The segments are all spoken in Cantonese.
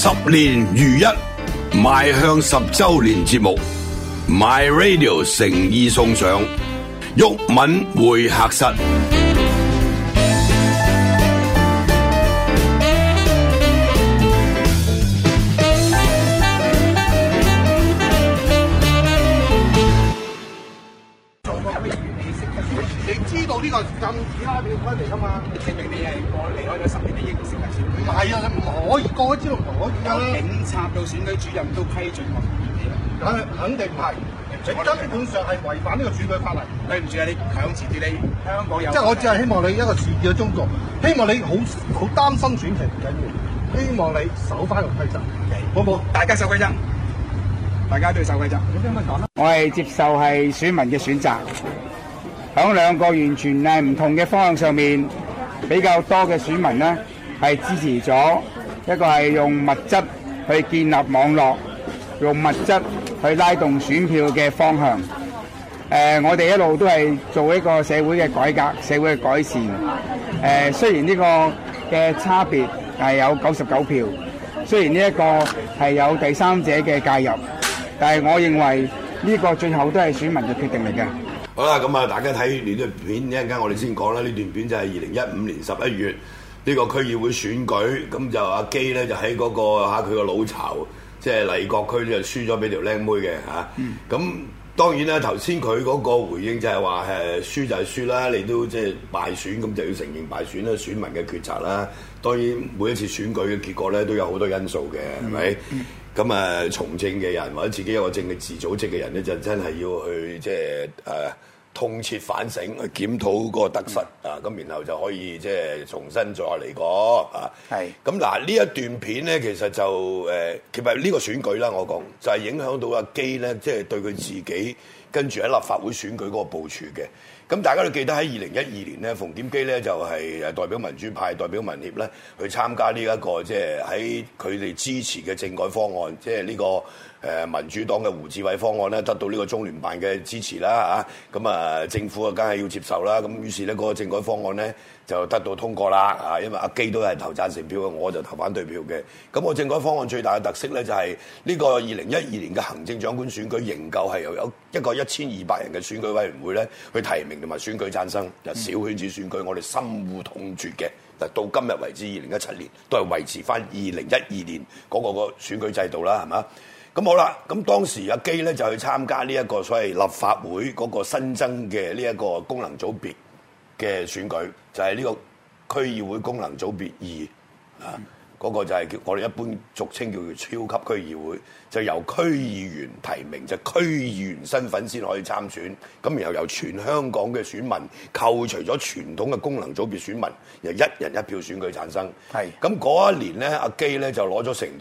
10年如一，邁向10周年節目 ，My Radio 誠意送上毓民會客室。 你知道呢個禁止拉票區嚟㗎嘛？證明你係離開咗10年，你認識嘅選舉。唔係啊，唔可以過咗之後唔可以㗎。警察到選舉主任都批准我肯定唔係。你根本上係違反呢個選舉法例。對唔住啊，你強詞奪理，香港有。即係我只係希望你一個自治嘅中國，希望你好擔心選情唔緊要，希望你守翻個規則，好唔好？大家守規則，大家都要守規則。咁點樣講咧？ 我係接受係選民嘅選擇。喺兩個完全係唔同嘅方向上面，比較多嘅選民呢係支持咗一個係用物質去建立網絡，用物質去拉動選票嘅方向。我哋一路都係做一個社會嘅改革、社會嘅改善。雖然呢個嘅差別係有99票，雖然呢一個係有第三者嘅介入，但係我認為呢個最後都係選民嘅決定嚟嘅。 好啦，咁啊，大家睇呢段片，一陣間我哋先講啦。呢段片就係2015年11月呢個區議會選舉，咁就阿基咧就喺嗰個佢個老巢，即係麗閣區就輸咗俾條靚妹嘅嚇。咁當然啦，頭先佢嗰個回應就係話輸就係輸啦，你都即係敗選，咁就要承認敗選啦，選民嘅抉擇啦。當然每一次選舉嘅結果咧都有好多因素嘅，係咪？咁啊，從政嘅人或者自己有個政治組織嘅人咧，就真係要去即係痛徹反省，去檢討嗰個得失啊，咁然後就可以即係重新再嚟過啊。係。咁嗱，呢一段片咧，其實就其實呢個選舉啦，我講就係影響到阿基咧，即係對佢自己跟住喺立法會選舉嗰個部署嘅。咁大家都記得喺2012年咧，馮檢基咧就係代表民主派、代表民協咧去參加呢一個即係喺佢哋支持嘅政改方案，即係呢個民主黨嘅胡志偉方案咧，得到呢個中聯辦嘅支持啦嚇。咁啊，政府啊梗係要接受啦。咁於是咧嗰個政改方案咧就得到通過啦啊，因為阿基都係投贊成票嘅，我就投反對票嘅。咁個政改方案最大嘅特色咧就係呢個2012年嘅行政長官選舉仍舊係由有一個1200人嘅選舉委員會咧去提名同埋選舉產生，就小圈子選舉，我哋深惡痛絕嘅。嗱，到今日為止2017年都係維持翻2012年嗰個選舉制度啦，係嘛？咁好啦，咁當時阿基咧就去參加呢一個所謂立法會嗰個新增嘅呢一個功能組別嘅選舉，就係呢個區議會功能組別2啊。嗰個就係叫我哋一般俗稱叫做超級區議會，就由區議員提名，就區議員身份先可以參選。咁然後由全香港嘅選民扣除咗傳統嘅功能組別選民，由1人1票選舉產生。係。咁嗰一年咧，阿基咧就攞咗成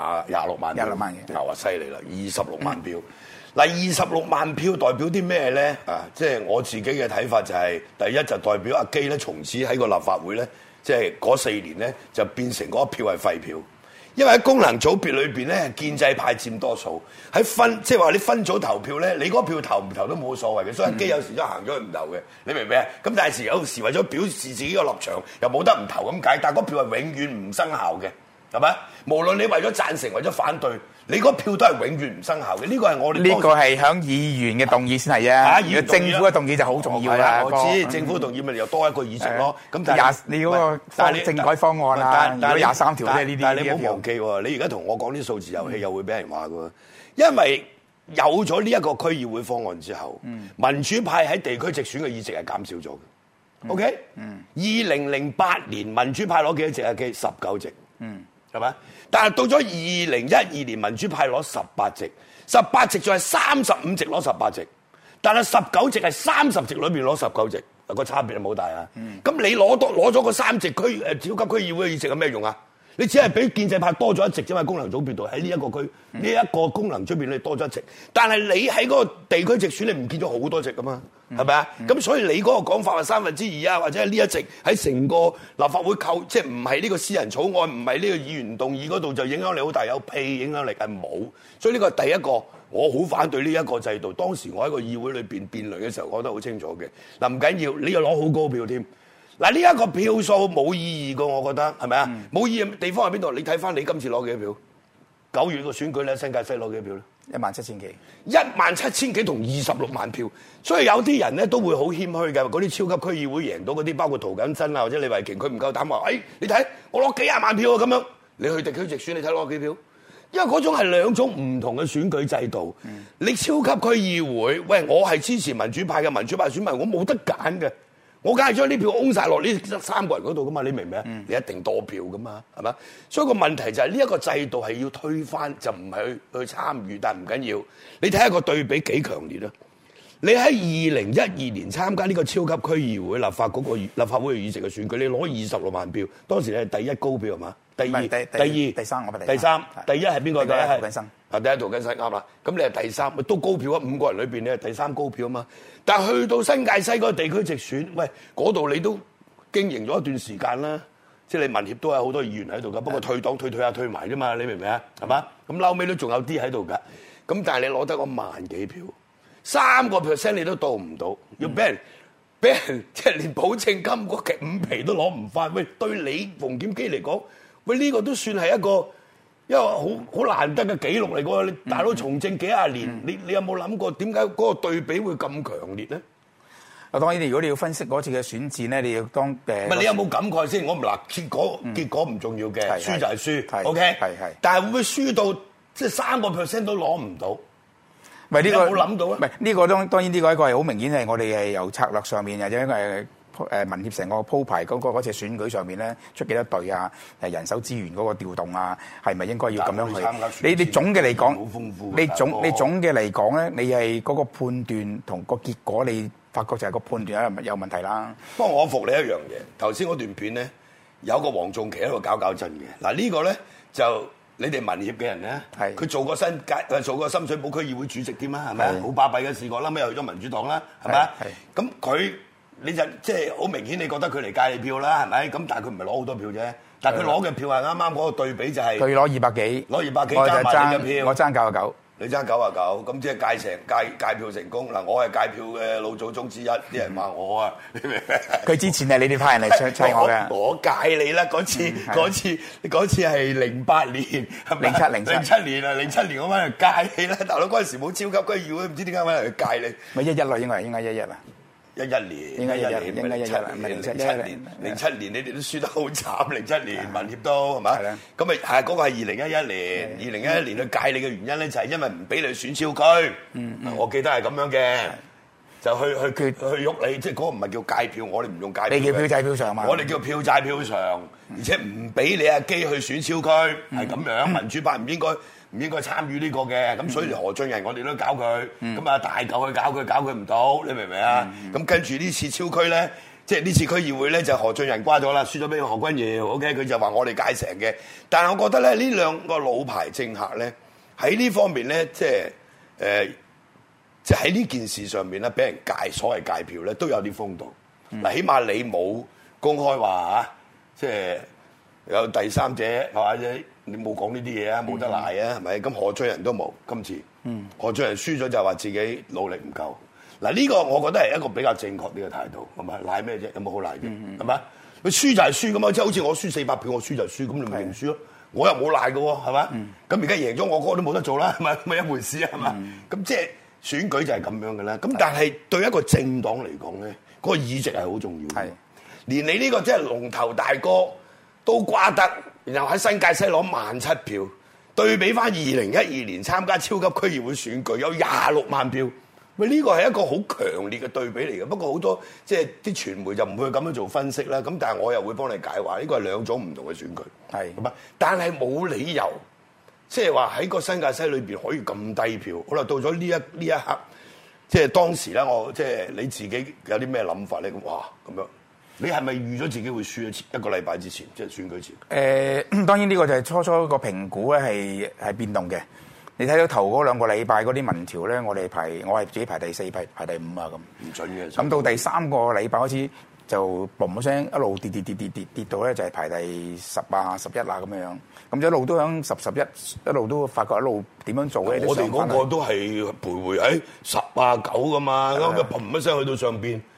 26萬票。26萬嘅。話犀利啦，26萬票。嗱，26萬票代表啲咩咧？啊，即係我自己嘅睇法就係，第一就代表阿基咧，從此喺個立法會咧。即係嗰4年咧，就變成嗰一票係廢票，因為喺功能組別裏邊咧，建制派佔多數。喺即係話你分組投票咧，你嗰票投唔投都冇所謂嘅，所以阿基有時都行咗去唔投嘅，你明唔明啊？咁但係有時為咗表示自己個立場，又冇得唔投咁解，但係嗰票係永遠唔生效嘅，係咪？無論你為咗贊成，為咗反對。你嗰票都係永遠唔生效嘅，呢個係我哋呢個係響議員嘅動議先係啊，政府嘅動議就好重要啦。 我知政府動議咪又多一個議席咯。咁但係你嗰個政改方案啊，如果23條咧呢啲， 但係你唔好忘記喎，你而家同我講啲數字遊戲又會俾人話嘅，因為有咗呢一個區議會方案之後，民主派喺地區直選嘅議席係減少咗嘅。OK， 2008年民主派攞幾多席啊？19席，係咪？但係到咗2012年，民主派攞18席，18席仲係35席攞18席，但係19席係30席裏面攞19席，個差別係冇大啊。咁你攞咗個3席超級區議會嘅議席有咩用啊？你只係比建制派多咗1席啫嘛，功能組別度喺呢一個區，呢一個功能組別你多咗1席，但係你喺嗰個地區直選你唔見咗好多席噶嘛，係咪啊？咁所以你嗰個講法係2/3啊，或者係呢一席喺成個立法會即係唔係呢個私人草案，唔係呢個議員動議嗰度就影響力好大，有屁影響力係冇。所以呢個係第一個，我好反對呢一個制度。當時我喺個議會裏邊辯論嘅時候講得好清楚嘅。嗱，唔緊要，你又攞好高票添。嗱，呢一個票數冇意義㗎，我覺得係咪啊？冇意義地方喺邊度？你睇翻你今次攞幾多票？ 9月個選舉咧，新界西攞幾票咧 ？17000幾 ，17000幾同26萬票，所以有啲人咧都會好謙虛嘅，嗰啲超級區議會贏到嗰啲，包括涂謹申啊或者李慧瓊，佢唔夠膽話，你睇我攞幾廿萬票啊咁樣，你去地區直選你睇攞幾票？因為嗰種係兩種唔同嘅選舉制度。你超級區議會，喂，我係支持民主派嘅民主派選民，我冇得揀嘅，我梗係將啲票擁晒落呢3個人嗰度噶嘛，你明唔明啊？你一定多票噶嘛，係嘛？所以個問題就係呢一個制度係要推翻，就唔係去參與，但係唔緊要。你睇下個對比幾強烈啊！你喺2012年參加呢個超級區議會立法會議席嘅選舉，你攞26萬票，當時你係第一高票係嘛？第二、 第三， 第三，第一係邊個？ 第一係涂謹申。 第一涂謹申啱啦。咁你係第三，都高票啊！5個人裏邊你係第三高票啊嘛。但係去到新界西嗰個地區直選，喂，嗰度你都經營咗一段時間啦。即係你民協都有好多議員喺度㗎，不過退黨退下退埋啫嘛，你明唔明啊？係嘛？咁後尾都仲有啲喺度㗎。咁但係你攞得個萬幾票，3% 你都到唔到，要俾人即係連保證金嗰5皮都攞唔翻。喂，對你馮檢基嚟講，喂呢個都算係一個好難得嘅紀錄嚟㗎。你大佬從政幾廿年，你有冇諗過點解嗰個對比會咁強烈咧？ 當然，如果你要分析嗰次嘅選戰咧，你要當唔係你有冇感慨先？我唔嗱結果唔重要嘅，輸就係輸，OK。係。但係會唔會輸到即係3% 都攞唔到？ 唔係呢個有冇諗到啊？ 唔係呢個當然呢個一個係好明顯係我哋係由策略上面或者民協成個鋪排嗰次選舉上面咧出幾多隊啊？人手資源嗰個調動啊，係咪應該要咁樣去？你總嘅嚟講， 好豐富。 你總嘅嚟講咧，你係嗰個判斷同個結果，你發覺就係個判斷有問題啦。 不過我服你一樣嘢，頭先嗰段片咧有個黃仲祺喺度搞震嘅。嗱呢個咧就你哋民協嘅人咧，佢做過深水埗區議會主席添啊，係咪啊？好巴閉嘅試過啦，咪去咗民主黨啦，係咪啊？咁佢你就即係好明顯，你覺得佢嚟戒你票啦，係咪？咁但係佢唔係攞好多票啫，但係佢攞嘅票係啱啱嗰個對比就係佢攞200幾， 攞200幾加埋你嘅票， 我爭99。 你爭99，咁即係戒票成功嗱，我係戒票嘅老祖宗之一，啲人話我啊，你明唔明？ 佢之前係你哋派人嚟砌我嘅， 我戒你啦！嗰次係08年，係咪？07年啊，07年我翻嚟戒你啦！大佬嗰陣時冇超級區議會，唔知點解翻嚟戒你。 咪11啦，應該11啊。 11年，應該11年，唔係07年，你哋都輸得好慘。07年民協都係嘛？咁咪係嗰個係2011年，2011年去戒你嘅原因咧，就係因為唔俾你選超區。我記得係咁樣嘅，就去喐你，即係嗰個唔係叫戒票，我哋唔用戒票。 你叫票債票償嘛？ 我哋叫票債票償，而且唔俾你阿基去選超區，係咁樣。民主派唔應該參與呢個嘅，咁所以何俊仁我哋都搞佢，咁啊大嚿去搞佢唔到，你明唔明啊？咁跟住呢次超區咧，即係呢次區議會咧就何俊仁瓜咗啦，輸咗俾何君堯 ，OK， 佢就話我哋戒成嘅，但係我覺得咧呢兩個老牌政客咧喺呢方面咧，即係喺呢件事上面咧，俾人所謂戒票咧都有啲風度。嗱，起碼你冇公開話即係有第三者或者。你冇講呢啲嘢啊，冇得賴啊，係咪？咁何俊仁都冇今次，何俊仁輸咗就話自己努力唔夠。嗱呢個我覺得係一個比較正確啲嘅態度，係咪？賴咩啫？有冇好賴嘅？係咪？佢輸就係輸咁嘛，即係好似我輸400票，我輸就輸，咁你咪認輸咯。我又冇賴嘅喎，係咪？咁而家贏咗我嗰個都冇得做啦，係咪？咪一回事啊，係嘛？咁即係選舉就係咁樣嘅啦。咁但係對一個政黨嚟講咧，嗰個議席係好重要嘅。連你呢個即係龍頭大哥都瓜得。然後喺新界西攞17000票，對比翻2012年參加超級區議會選舉有26萬票，喂呢個係一個好強烈嘅對比嚟嘅。不過好多即係啲傳媒就唔會咁樣做分析啦。咁但係我又會幫你解話，呢個係兩種唔同嘅選舉，係咁啊。但係冇理由即係話喺個新界西裏邊可以咁低票。好啦，到咗呢一刻，即係當時咧，我即係你自己有啲咩諗法咧？哇咁樣。你係咪預咗自己會輸一個禮拜之前，即係選舉前？ 當然呢個就係初初個評估咧係變動嘅。你睇到頭嗰2個禮拜嗰啲民調咧，我係自己排第4、排第5啊咁。 唔準嘅。 咁到第3個禮拜開始就嘣一聲一路跌到咧就係排第10啊、11啊咁樣。咁就一路都響10、11，一路都發覺一路點樣做咧。 我哋嗰個都係徘徊喺10啊、9噶嘛，咁嘣一聲去到上邊。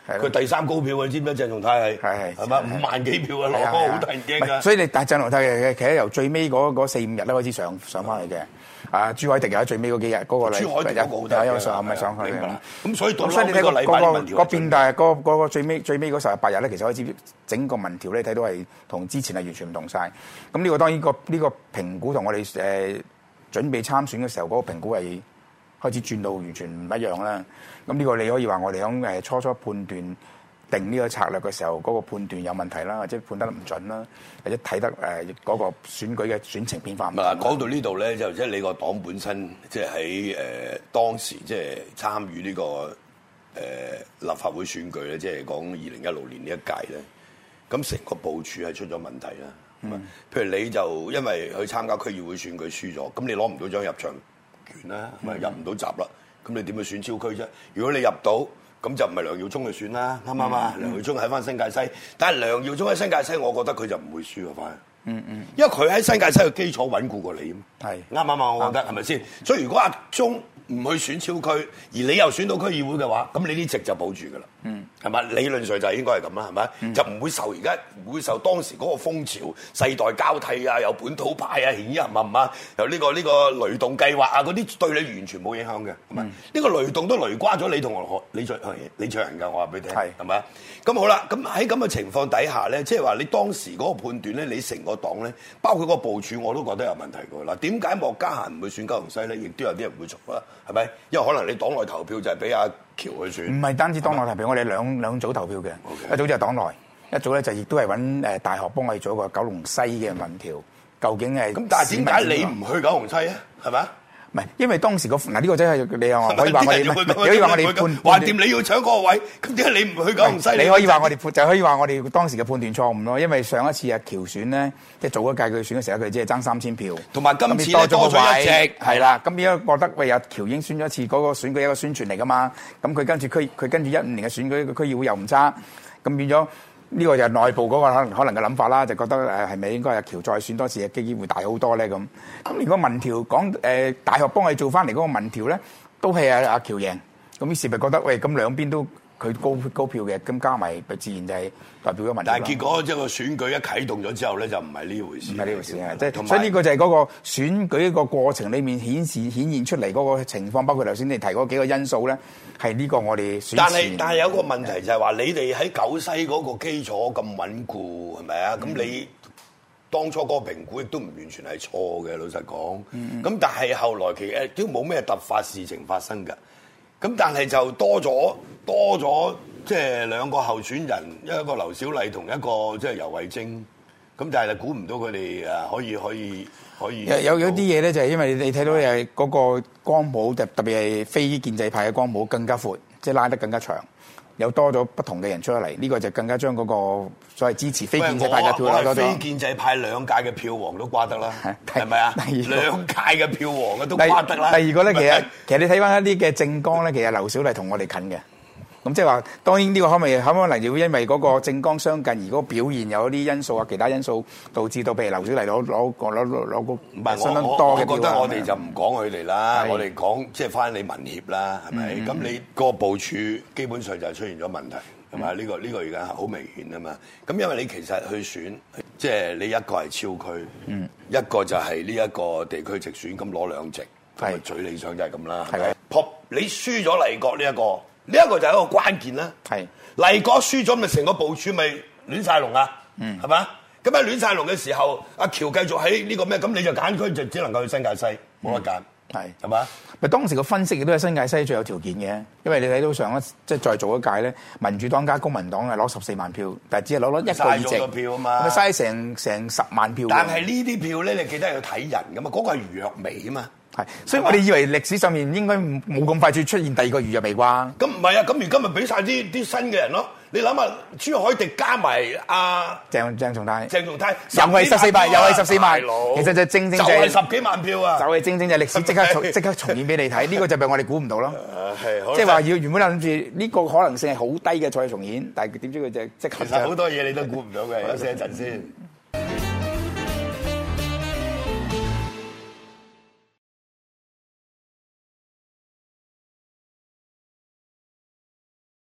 佢第3高票，你知唔知鄭松泰係嘛5萬幾票啊，攞好得人驚㗎。 所以你但係鄭松泰其實由最尾嗰4-5日咧開始上翻去嘅。朱凱廸又喺最尾嗰幾日嗰個禮， 朱凱廸嗰個有上咪上去嘅。 咁所以到你睇個變大個最尾嗰18日咧，其實開始整個民調咧睇到係同之前係完全唔同晒。咁呢個當然呢個評估同我哋準備參選嘅時候嗰個評估係開始轉到完全唔一樣啦。咁呢個你可以話我哋響初判斷定呢個策略嘅時候，嗰個判斷有問題啦，或者判得唔準啦，或者睇得嗰個選舉嘅選情變化唔同。 嗱，講到呢度咧，就即係你個黨本身，即係喺當時即係參與呢個立法會選舉咧，即係講2016年呢一屆咧，咁成個部署係出咗問題啦。譬如你就因為去參加區議會選舉輸咗，咁你攞唔到張入場券啦，咪入唔到閘啦，咁你點去選超區啫？如果你入到，咁就唔係梁耀忠去選啦，啱唔啱啊？梁耀忠喺翻新界西，但係梁耀忠喺新界西，我覺得佢就唔會輸嘅，反而。因為佢喺新界西嘅基礎穩固過你，係啱唔啱啊？我覺得係咪先？所以如果阿忠唔去選超區，而你又選到區議會嘅話，咁你啲席就保住㗎啦，係嘛？理論上就應該係咁啦，係咪？就唔會受唔會受當時嗰個風潮、世代交替啊，有本土派啊、顯人啊，由呢個雷動計劃啊嗰啲對你完全冇影響嘅，係咪？呢個雷動都雷瓜咗你同李卓人㗎，我話俾你聽，係咪？咁好啦，咁喺咁嘅情況底下咧，即係話你當時嗰個判斷咧，你成個黨咧，包括個部署，我都覺得有問題㗎。嗱，點解莫家嫻唔會選九龍西咧？亦都有啲人會做啦，係咪？因為可能你黨內投票就係俾阿喬去選，唔係單止黨內投票，我哋兩組投票嘅，一組就係黨內，一組咧就亦都係揾大學幫我哋做一個九龍西嘅民調，究竟係咁？但係點解你唔去九龍西啊？係咪？唔係，因為當時嗱呢個真係你又可以話我哋，可以話我哋判掂你要搶嗰個位，咁點解你唔去九龍西？你可以話我哋就可以話我哋當時嘅判斷錯誤咯。因為上一次阿喬選咧，即係早一屆佢選嘅時候，佢只係爭3000票，同埋今次多咗個位，係啦。咁而家覺得喂阿喬已經選咗一次嗰個選舉一個宣傳嚟㗎嘛，咁佢跟住15年嘅選舉個區議會又唔差，咁變咗。呢個就係內部嗰個可能嘅諗法啦，就覺得係咪應該阿喬再選多次嘅機會大好多咧咁？咁如果民調講大學幫佢做翻嚟嗰個民調咧，都係阿喬贏，咁於是咪覺得喂咁兩邊都佢高票嘅，咁加埋自然就係代表咗民調。但係結果即係個選舉一啟動咗之後咧，就唔係呢回事。唔係呢回事啊！即係所以呢個就係嗰個選舉個過程裏面顯現出嚟嗰個情況，包括頭先你提嗰幾個因素咧。係呢個我哋選前，但係有個問題就係話，你哋喺九西嗰個基礎咁穩固，係咪啊？咁你當初嗰個評估亦都唔完全係錯嘅，老實講。咁但係後來其實都冇咩突發事情發生㗎。咁但係就多咗，即係兩個候選人，一個劉小麗同一個即係游蕙禎。咁但係估唔到佢哋可以有啲嘢咧，就係因為你睇到係嗰個光譜，特別係非建制派嘅光譜更加闊，即係拉得更加長，有多咗不同嘅人出嚟，呢個就更加將嗰個所謂支持非建制派嘅票拉多咗。非建制派2屆嘅票王都瓜得啦，係咪啊？2屆嘅票王嘅都瓜得啦。第二個咧，其實你睇翻一啲嘅政綱咧，其實劉小麗同我哋近嘅。咁即係話，當然呢個可能要因為嗰個政綱相近，而嗰個表現有啲因素啊，其他因素導致到，譬如劉小麗攞個相當多嘅票。我覺得我哋就唔講佢哋啦，我哋講即係翻你民協啦，係咪？咁你個部署基本上就係出現咗問題，係咪？呢個而家好明顯啊嘛。咁因為你其實去選，即係你一個係超區，一個就係呢一個地區直選，咁攞2席，係最理想就係咁啦。係咪？你輸咗麗閣呢一個。呢一個就係一個關鍵啦。係麗閣輸咗，咪成個部署咪亂晒龍啊？係嘛？咁喺亂晒龍嘅時候，阿喬繼續喺呢個咩？咁你就揀區就只能夠去新界西，冇得揀。係嘛？咪當時個分析亦都係新界西最有條件嘅，因為你睇到上一即係再做一屆咧，民主黨加公民黨係攞14萬票，但係只係攞1個議席。嘥咗個票啊嘛，咪嘥成10萬票。但係呢啲票咧，你記得要睇人噶嘛？嗰個係余若薇啊嘛。係，所以我哋以為歷史上面應該冇咁快出現第二個余若薇啩？咁唔係啊，咁而家咪俾晒啲新嘅人咯。你諗下，朱凱廸加埋鄭松泰，又係14萬，其實就正就係10幾萬票啊！就係正就係歷史即刻重現俾你睇，呢個就係我哋估唔到咯。即係話原本諗住呢個可能性係好低嘅再重現，但係點知佢就即刻。其實好多嘢你都估唔到嘅，休息一陣先。